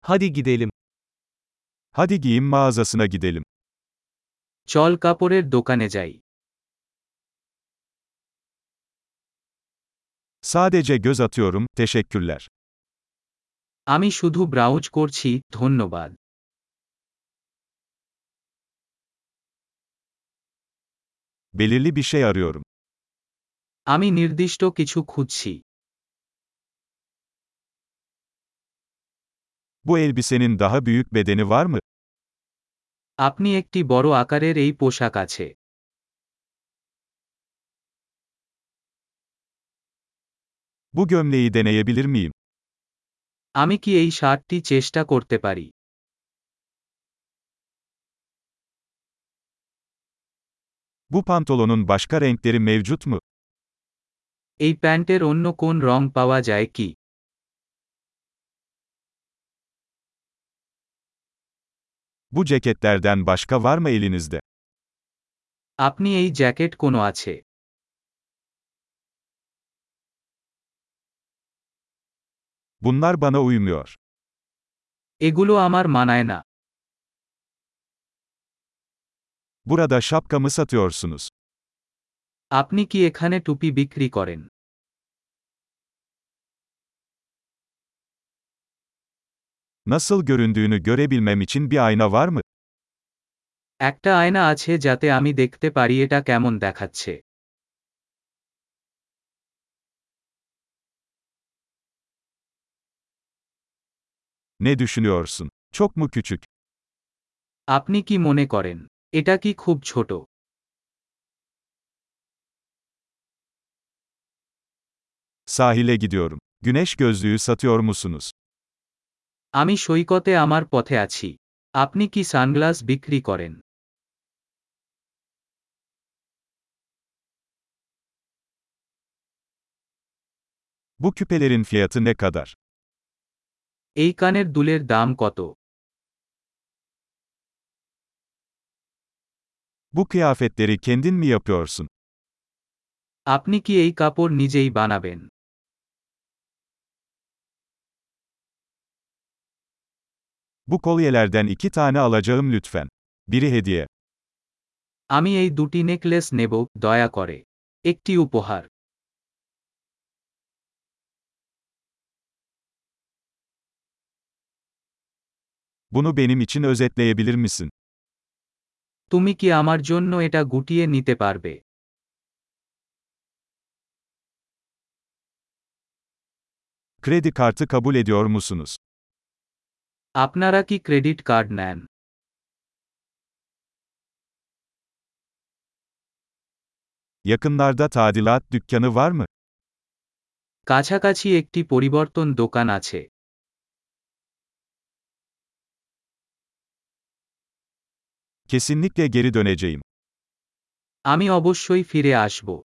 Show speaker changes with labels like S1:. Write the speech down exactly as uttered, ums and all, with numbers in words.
S1: Hadi gidelim.
S2: Hadi giyim mağazasına gidelim.
S1: চল কাপড়ের দোকানে যাই।
S2: Sadece göz atıyorum, teşekkürler.
S1: আমি শুধু ব্রাউজ করছি, ধন্যবাদ।
S2: Belirli bir şey arıyorum.
S1: আমি নির্দিষ্ট কিছু খুঁজছি।
S2: Bu elbisenin daha büyük bedeni var mı?
S1: আপনি একটি বড় আকারের এই পোশাক আছে।
S2: Bu gömleği deneyebilir miyim?
S1: আমি কি এই শার্টটি চেষ্টা করতে পারি?
S2: Bu pantolonun başka renkleri mevcut mu?
S1: এই প্যান্টের অন্য কোন রং পাওয়া যায় কি?
S2: Bu ceketlerden başka var mı elinizde?
S1: আপনি এই জ্যাকেট কোনো আছে?
S2: Bunlar bana uymuyor.
S1: এগুলো আমার মানায় না।
S2: Burada şapka mı satıyorsunuz?
S1: আপনি কি এখানে টুপি বিক্রি করেন?
S2: Nasıl göründüğünü görebilmem için bir ayna var mı?
S1: একটা আয়না আছে যাতে আমি দেখতে পারি এটা কেমন দেখাচ্ছে।
S2: Ne düşünüyorsun? Çok mu küçük?
S1: আপনি কি মনে করেন? এটা কি খুব ছোট?
S2: Sahile gidiyorum. Güneş gözlüğü satıyor musunuz?
S1: আমি সৈকতে আমার পথে আছি। আপনি কি সানগ্লাস বিক্রি করেন?
S2: Bu küpelerin fiyatı ne kadar?
S1: এই কানের দুলের দাম কত?
S2: Bu kıyafetleri kendin mi yapıyorsun?
S1: আপনি কি এই কাপড় নিজেই বানাবেন?
S2: Bu kolyelerden iki tane alacağım lütfen. Biri hediye.
S1: আমি এই দুটি নেকলেস নেব, দয়া করে। একটি উপহার।
S2: Bunu benim için özetleyebilir misin?
S1: তুমি কি আমার জন্য এটা গুটিয়ে নিতে পারবে?
S2: Kredi kartı kabul ediyor musunuz?
S1: আপনারা কি ক্রেডিট কার্ড নেন?
S2: Yakınlarda tadilat dükkanı var mı?
S1: কাছাকাছি একটি পরিবর্তন দোকান আছে।
S2: Kesinlikle geri döneceğim.
S1: আমি অবশ্যই ফিরে আসব।